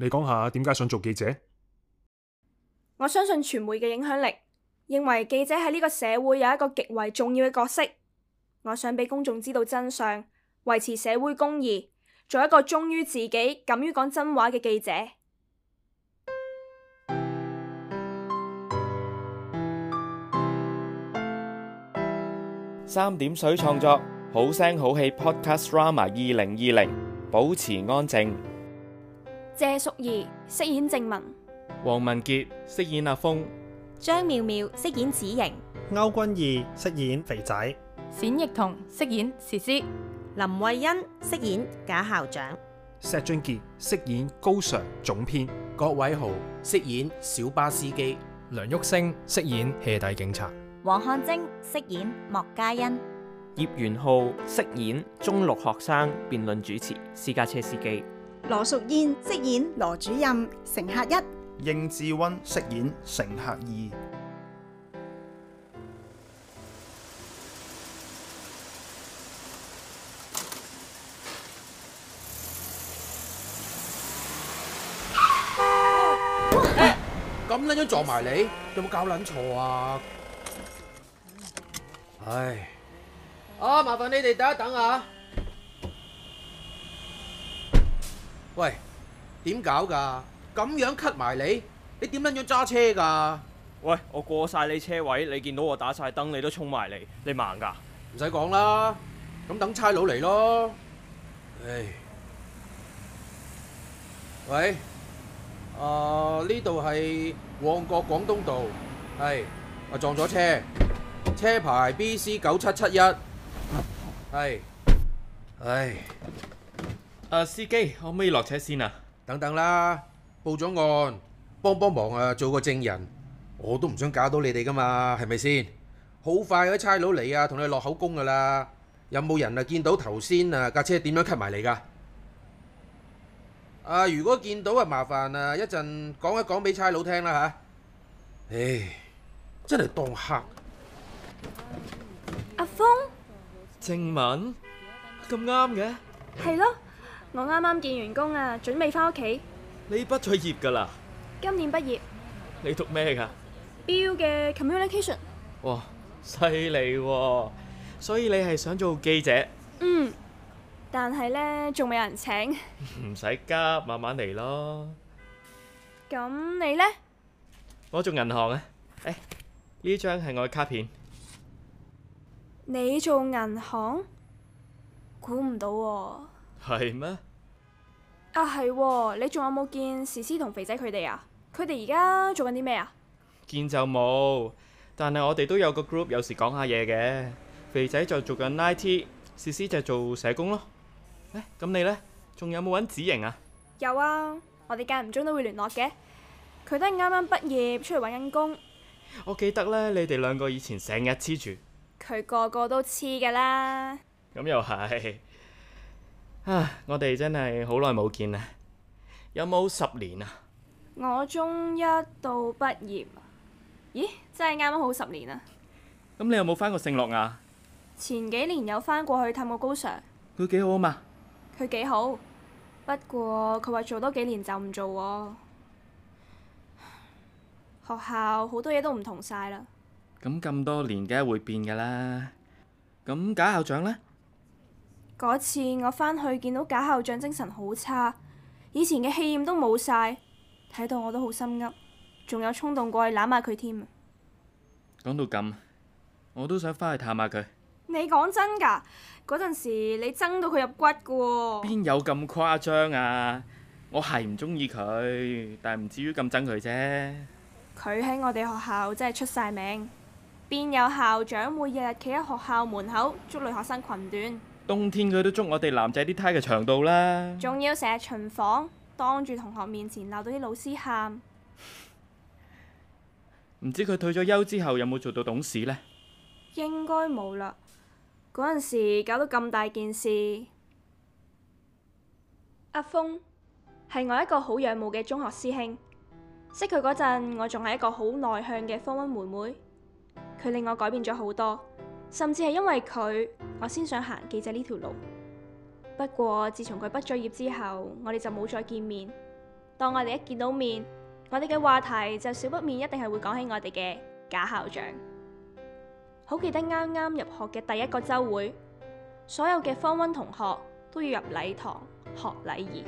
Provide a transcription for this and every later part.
你講下點解想做記者？ 我相信傳媒嘅影響力，認為記者喺呢個社會有一個極為重要嘅角色。我想俾公眾知道真相，維持社會公義，做一個忠於自己、敢於講真話嘅記者。 三點水創作，好聲好戲 Podcast Drama 2020，保持安靜。 謝淑儀飾演靜雯， 黃文傑飾演阿峰， 張妙妙飾演子瑩， 歐君義飾演肥仔， 冼奕彤飾演詩詩， 林慧欣飾演賈校長， 石俊傑飾演高 Sir 總編， 郭偉豪飾演小巴司機， 梁煜星飾演戲底警察， 黃漢貞飾演莫嘉欣， 葉元浩飾演中六學生辯論主持私家車司機， 羅淑燕飾演羅主任乘客一， 應智溫飾演乘客二。 咁撚樣撞埋你，有冇搞撚錯啊？唉，麻煩你哋等一等啊！喂，點搞噶？咁樣cut埋你，你點撚樣揸車噶？ 喂，我過晒你車位，你見到我打晒燈，你都衝埋嚟，你盲噶？ 唔使講啦，咁等差佬嚟咯。唉，喂。呢度係旺角廣東道，係我撞咗車，車牌 BC9771，係，唉， 司機可唔可以落車先啊？ 等等啦，報咗案，幫忙啊，做個證人，我都唔想搞到你哋噶嘛，係咪先？好快嗰啲差佬嚟啊，同你落口供噶啦。有冇人啊見到頭先啊架車點樣cut埋嚟噶？如果見到麻煩一陣講一講俾差佬聽啦吓。唉，真係當黑。 阿峰， 靜雯，咁啱嘅？ 係咯，我啱啱見完工啊，準備翻屋企。 你畢咗業噶啦？ 今年畢業。 你讀咩噶 ？BU 嘅 Communication。 哇，犀利喎！所以你係想做記者？ 嗯。但係呢，仲未有人請。 唔使急，慢慢嚟咯。 咁你呢？ 我做銀行啊。呢張係我嘅卡片。 你做銀行？估唔到喎。 係咩？ 係，你仲有冇見詩詩同肥仔佢哋啊？佢哋而家做緊啲咩啊？ 見就冇，但係我哋都有個 group，有時講下嘢嘅。肥仔就做緊 IT，詩詩就做社工咯。咁你呢？仲有冇揾子瑩啊？ 有啊，我哋間唔中都會聯絡嘅。佢都係啱啱畢業出嚟揾緊工。 我記得呢，你哋兩個以前成日黐住。佢個個都黐噶啦。 咁又係。我哋真係好耐冇見啦。有冇10年啊？ 我中一到畢業。咦，真係啱啱好10年啊！ 咁你有冇返過聖樂亞？ 前幾年有返過去探過高 Sir。 佢幾好啊嘛？ 佢幾好，不過佢話做多幾年就唔做喎。學校好多嘢都唔同晒啦。 咁多年梗係會變噶啦。咁賈校長呢？ 嗰次我返去見到賈校長精神好差，以前嘅氣焰都冇晒，睇到我都好心噏，仲有衝動過去攬下佢添。 講到咁，我都想返去探下佢。 你講真㗎？嗰陣時你憎到佢入骨㗎喎。 邊有咁誇張啊？我係唔中意佢，但係唔至於咁憎佢啫。 佢喺我哋學校真係出晒名，邊有校長會日日企喺學校門口捉女學生裙短？ 冬天佢都捉我哋男仔啲呔嘅長度啦。 仲要成日巡房，當住同學面前鬧到啲老師喊。 唔知佢退咗休之後有冇做到董事呢？ 應該冇啦。嗰陣時搞到咁大件事。阿峰係我一個好仰慕嘅中學師兄，識佢嗰陣我仲係一個好內向嘅科1妹妹，佢令我改變咗好多，甚至係因為佢我先想行記者呢條路。不過自從佢畢咗業之後，我哋就冇再見面。 當我哋一見到面，我哋嘅話題就少不免一定係會講起我哋嘅假校長。好記得啱啱入學嘅第一個週會，所有嘅Form 1同學都要入禮堂學禮儀。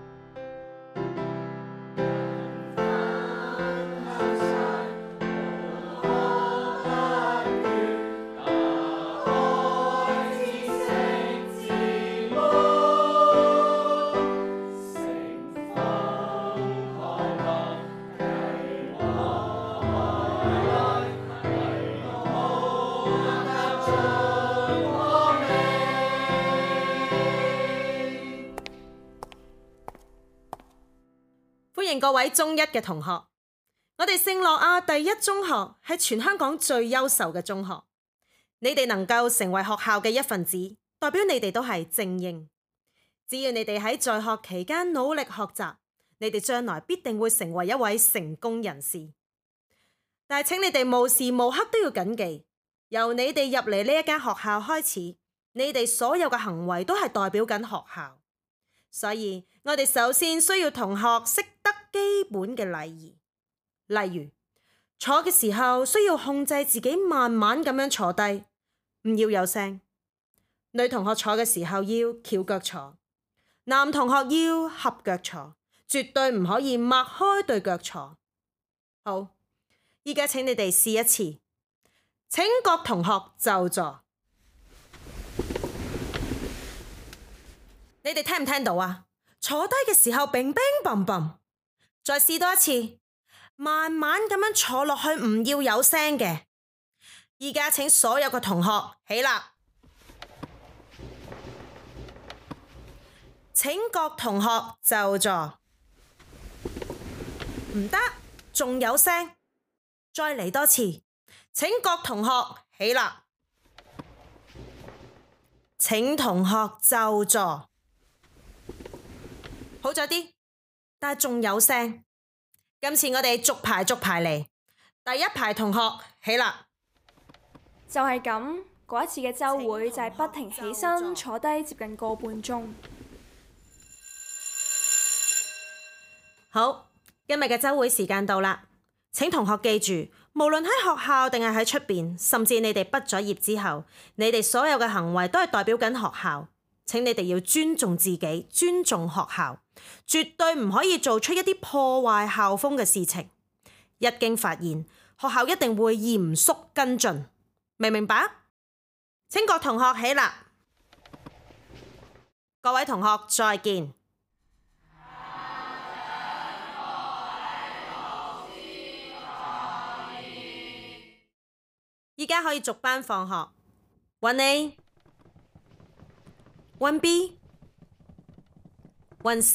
歡迎各位中一嘅同學，我哋聖諾亞第一中學係全香港最優秀嘅中學。你哋能夠成為學校嘅一份子，代表你哋都係精英。只要你哋喺在學期間努力學習，你哋將來必定會成為一位成功人士。但係請你哋無時無刻都要謹記，由你哋入嚟呢一間學校開始，你哋所有嘅行為都係代表緊學校。所以我哋首先需要同學識得基本嘅禮儀，例如坐嘅時候需要控制自己慢慢咁樣坐低，唔要有聲。女同學坐嘅時候要翹腳坐，男同學要合腳坐，絕對唔可以擘開對腳坐。好，依家請你哋試一次，請各同學就座。你哋聽唔聽到啊？坐低嘅時候乒乒乓乓，再試多一次，慢慢咁樣坐落去，唔要有聲嘅。依家請所有嘅同學起立，請各同學就座。唔得，仲有聲，再嚟多次，請各同學起立，請同學就座。好咗啲，但係仲有聲。今次我哋逐排嚟，第一排同學起立。 就係咁，嗰一次嘅週會就係不停起身坐低接近個半鐘。 好，今日嘅週會時間到啦，請同學記住，無論喺學校定係喺出邊，甚至你哋畢咗業之後，你哋所有嘅行為都係代表緊學校。請你哋要尊重自己，尊重學校，絕對唔可以做出一啲破壞校風嘅事情。一經發現，學校一定會嚴肅跟進，明唔明白？請各同學起立，各位同學再見。依家可以逐班放學，揾你。1 B、1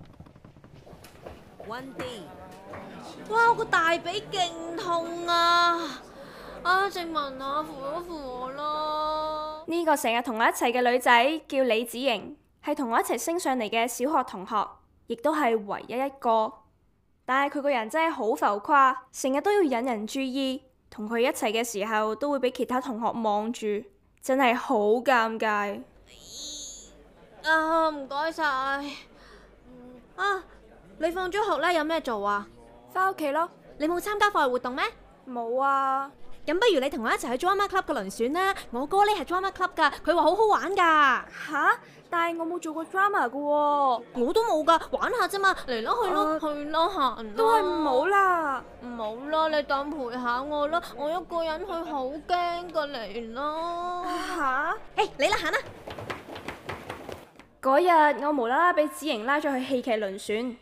C、1 D。 哇！我個大髀勁痛啊！靜文啊，扶一扶我啦！ 呢個成日同我一齊嘅女仔叫李子瑩，係同我一齊升上嚟嘅小學同學，亦都係唯一一個。但係佢個人真係好浮誇，成日都要引人注意，同佢一齊嘅時候都會俾其他同學望住，真係好尷尬。 唔該晒。你放咗學咧有咩做啊？ 返屋企咯。 你冇參加課外活動咩？ 冇啊。 咁不如你同我一齊去 Drama Club 嘅輪選啦。我哥呢係 Drama Club 噶，佢話好好玩噶。 吓？但係我冇做過 drama 噶喎。 我都冇噶，玩下啫嘛。嚟啦，去咯，去咯，行啦。 都係唔好啦。 唔好啦，你當陪下我啦。我一個人去好驚噶，嚟啦。 吓？ 嚟啦，行啦。 嗰日我無啦啦俾子瑩拉咗去戲劇輪選。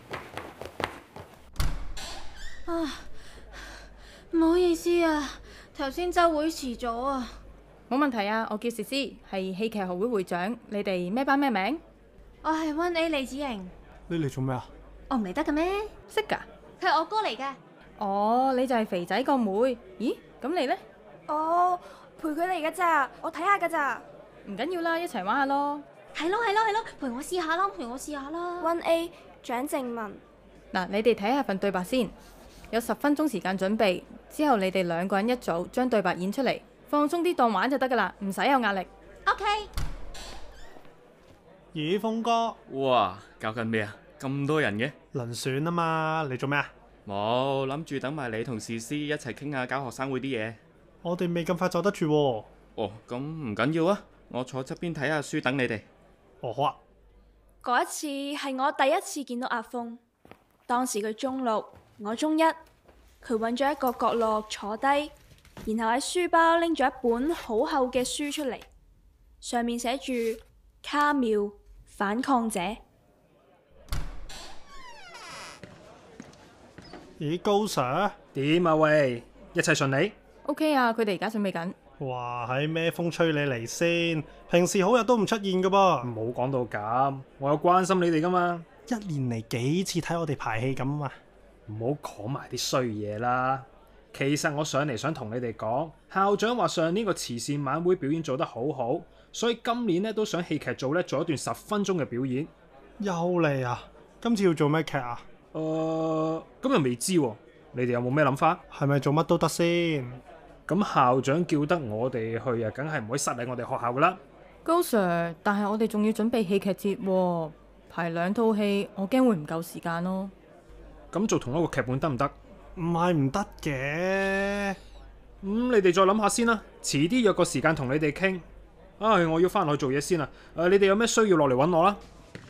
唔好意思啊，頭先週會遲咗啊。 冇問題啊，我叫詩詩，係戲劇學會會長。你哋咩班咩名？ 我係 1A 李子瑩。 你嚟做咩啊？ 我唔嚟得嘅咩？ 識㗎？ 佢係我哥嚟嘅。 哦，你就係肥仔個妹。咦，咁你呢？ 哦，陪佢嚟㗎咋，我睇下㗎咋。 唔緊要啦，一齊玩下咯。 係咯，陪我試下啦 1A 蔣靜文。 嗱，你哋睇下份對白先，有10分鐘時間準備，之後你哋2個人一組，將對白演出嚟，放鬆啲當玩就得噶啦，唔使有壓力。 OK。 咦，峰哥？ 哇，搞緊咩啊？ 咁多人嘅？ 輪選啊嘛，你做咩啊？ 冇，諗住等埋你同詩詩一齊傾下搞學生會啲嘢。 我哋未咁快走得住喎。 哦，咁唔緊要啊，我坐側邊睇下書等你哋。 哦，好啊。 嗰一次係我第一次見到阿峰，當時佢中6，我中1，佢揾咗一個角落坐低，然後喺書包拎咗一本好厚嘅書出嚟，上面寫住卡繆反抗者。 咦，高 Sir？ 點啊喂？一切順利 ？OK 啊，佢哋而家準備緊。 哇，喺咩風吹你嚟先？平時好日都唔出現噶噃。 唔好講到咁，我有關心你哋噶嘛。 一年嚟幾次睇我哋排戲咁啊！ 唔好講埋啲衰嘢啦。其實我上嚟想同你哋講，校長話上年個慈善晚會表演做得好好，所以今年咧都想戲劇組咧做一段10分鐘嘅表演。 又嚟啊！今次要做咩劇啊？ 咁又未知喎。你哋有冇咩諗法？ 係咪做乜都得先？ 咁校長叫得我哋去啊，梗係唔可以失禮我哋學校噶啦。 高 Sir， 但係我哋仲要準備戲劇節喎，排2套戲，我驚會唔夠時間咯。 咁做同一個劇本得唔得？ 唔係唔得嘅。 你哋再諗下先啦，遲啲約個時間同你哋傾。唉，我要翻去做嘢先啦。你哋有咩需要落嚟揾我啦。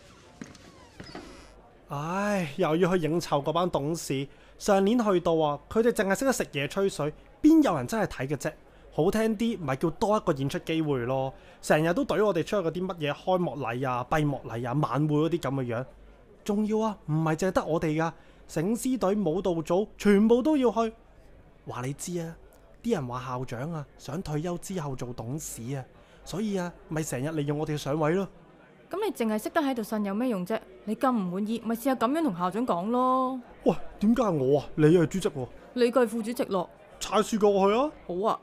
唉，又要去應酬嗰班董事。上年去到啊，佢哋淨係識得食嘢吹水，邊有人真係睇嘅啫？好聽啲，咪叫多一個演出機會咯。成日都懟我哋出去嗰啲乜嘢開幕禮啊、閉幕禮啊、晚會嗰啲咁嘅樣。仲要啊，唔係淨係得我哋噶，醒獅隊、舞蹈組全部都要去。話你知啊，啲人話校長啊想退休之後做董事啊，所以啊，咪成日利用我哋上位咯。 咁你淨係識得喺度呻有咩用啫？你咁唔滿意，咪試下咁樣同校長講咯。 喂，點解係我啊？你係主席喎。 你係副主席咯。 踩樹過去啊！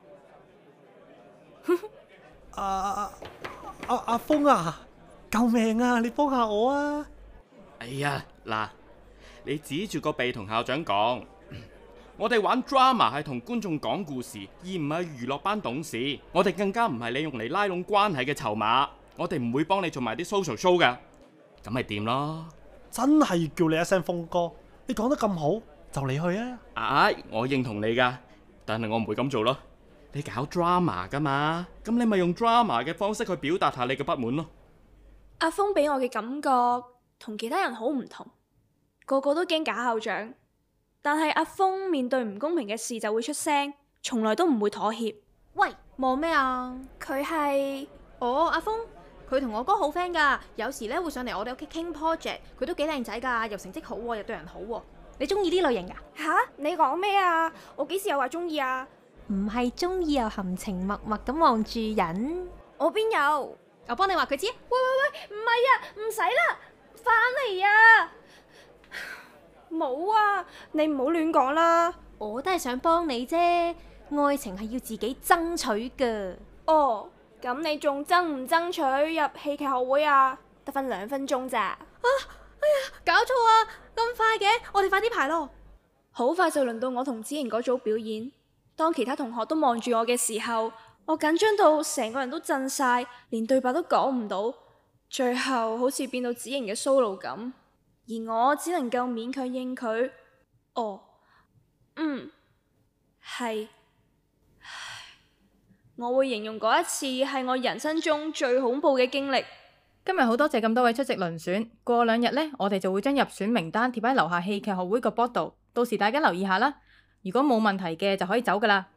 好啊。 阿峰啊，救命啊！你幫下我啊！ 哎呀，嗱，你指住個鼻同校長講，我哋玩 drama 係同觀眾講故事，而唔係娛樂班董事。我哋更加唔係你用嚟拉攏關係嘅籌碼。我哋唔會幫你做埋啲 social show 噶，咁咪掂咯。 真係要叫你一聲峰哥，你講得咁好，就你去啊！ 我認同你噶，但係我唔會咁做咯。你搞 drama 噶嘛，咁你咪用 drama 嘅方式去表達下你嘅不滿咯。 阿峰俾我嘅感覺同其他人好唔同，個個都驚假校長，但係阿峰面對唔公平嘅事就會出聲，從來都唔會妥協。 喂，望咩啊？ 佢係阿峰。佢同我哥好 friend 噶，有時咧會上嚟我哋屋企傾 project，佢都幾靚仔噶，又成績好，又對人好。你中意呢類型噶？ 吓？你講咩啊？我幾時有話中意啊？ 唔係中意又含情脈脈咁望住人。 我邊有？ 我幫你話佢知。 喂，唔係啊，唔使啦，翻嚟啊！冇啊，你唔好亂講啦。 我都係想幫你啫，愛情係要自己爭取噶。 哦。咁你仲爭唔爭取入戲劇學會啊？得返2分鐘咋？ 哎呀，搞錯啊！咁快嘅，我哋快啲排咯。 好快就輪到我同子瑩嗰組表演。當其他同學都望住我嘅時候，我緊張到成個人都震晒，連對白都講唔到。最後好似變到子瑩嘅 solo 咁，而我只能夠勉強應佢。係。我會形容嗰一次係我人生中最恐怖嘅經歷。 今日好多謝咁多位出席輪選，過2日呢，我哋就會將入選名單貼喺樓下戲劇學會個 board 度，到時大家留意下啦。如果冇問題嘅就可以走噶啦。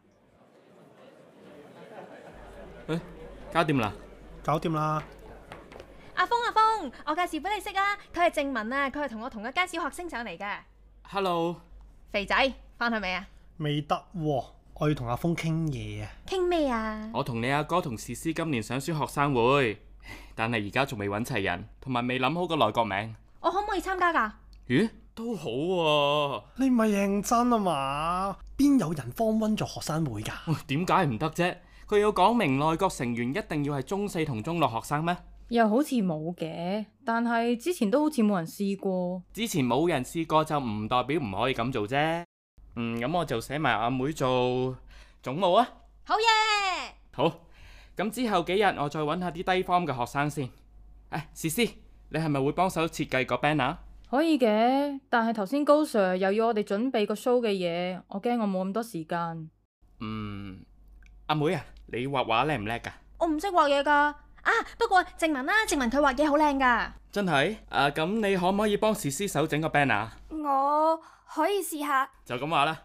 搞掂啦！ 搞掂啦！ 阿峰，我介紹俾你識啊，佢係靜文啊，佢係同我同一間小學升上嚟嘅。 Hello， 肥仔，翻去未啊？ 未得喎。我要同阿峰傾嘢啊！ 傾咩啊？ 我同你阿哥同詩詩今年想選學生會，但係而家仲未揾齊人，同埋未諗好個內閣名。 我可唔可以參加㗎？ 咦，都好喎！ 你唔係認真啊嘛？邊有人Form 1做學生會㗎？ 點解唔得啫？佢要講明內閣成員一定要係中4同中6學生咩？ 又好似冇嘅，但係之前都好似冇人試過。 之前冇人試過就唔代表唔可以咁做啫。咁我就寫埋阿妹做總務啊！ 好嘢！ 好，咁之後幾日我再揾下啲低 form 嘅學生先。詩詩，你係咪會幫手設計個 banner？ 可以嘅，但係頭先高 Sir 又要我哋準備個 show 嘅嘢，我驚我冇咁多時間。 阿妹啊，你畫畫叻唔叻㗎？ 我唔識畫嘢㗎。不過靜文啦，靜文佢畫嘢好靚㗎。 真係？咁你可唔可以幫史詩手整個 banner？ 我可以試下。 就咁話啦。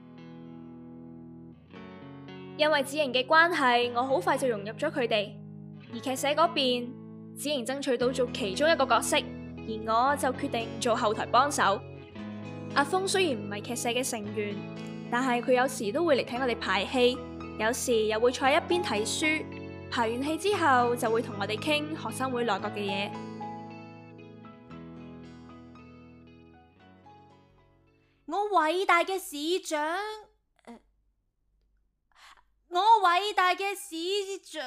因為子瑩嘅關係，我好快就融入咗佢哋。而劇社嗰邊，子瑩爭取到做其中一個角色，而我就決定做後台幫手。阿峰雖然唔係劇社嘅成員，但係佢有時都會嚟睇我哋排戲，有時又會坐喺一邊睇書。排完戲之後就會同我哋傾學生會內閣嘅嘢。 我偉大嘅市長，我偉大嘅市長，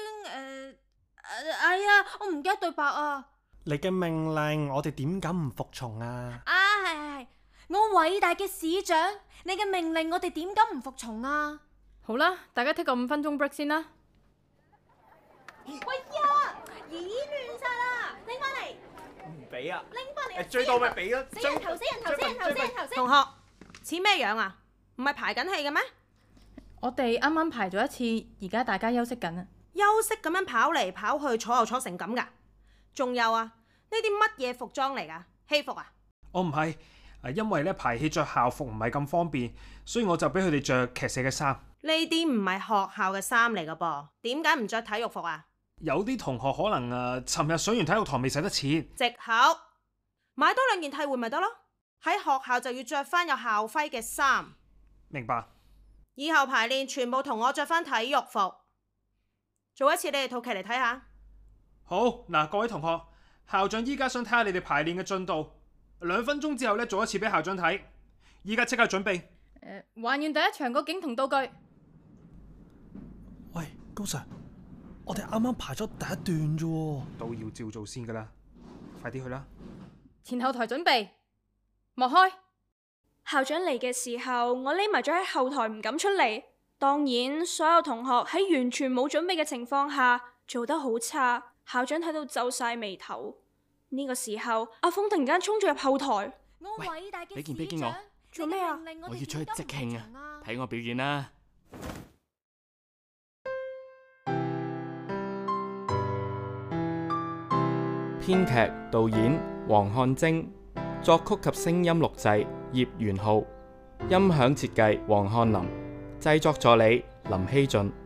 哎呀，我唔記得對白啊！ 你嘅命令，我哋點敢唔服從啊？ 係，我偉大嘅市長，你嘅命令我哋點敢唔服從啊？ 好啦，大家 take 個5分鐘 break 先啦。 喂呀，椅亂晒啦，拎翻嚟！ 唔俾啊！ 拎翻嚟！ 最多咪俾咯！ 死人頭，死人頭，死人頭，死人頭！ 同學似咩樣啊？唔係排緊戲嘅咩？ 我哋啱啱排咗一次，而家大家休息緊啊！ 休息咁樣跑嚟跑去，坐又坐成咁噶？仲有啊？呢啲乜嘢服裝嚟噶？戲服啊？ 我唔係，因為咧排戲着校服唔係咁方便，所以我就俾佢哋着劇社嘅衫。 呢啲唔係學校嘅衫嚟噶噃，點解唔着體育服啊？ 有啲同學可能尋日上完體育堂未使得錢， 藉口買多2件替換咪得咯。喺學校就要着翻有校徽嘅衫。 明白。 以後排練全部同我着翻體育服。做一次你哋套劇嚟睇下。 好嗱，各位同學，校長依家想睇下你哋排練嘅進度，2分鐘之後咧做一次俾校長睇。依家即刻準備。 還原第一場個景同道具。 喂，高 Sir。我哋啱啱排咗第一段啫， 都要照做先噶啦，快啲去啦！ 前後台準備，幕開。 校長嚟嘅時候，我匿埋咗喺後台唔敢出嚟。當然，所有同學喺完全冇準備嘅情況下做得好差，校長睇到皺晒眉頭。呢個時候，阿峰突然間衝咗入後台。 喂，俾件我。 做咩啊？ 我要出去即興啊！睇我表演啦！編劇導演黃漢貞，作曲及聲音錄製葉元浩，音響設計黃漢林，製作助理林希俊。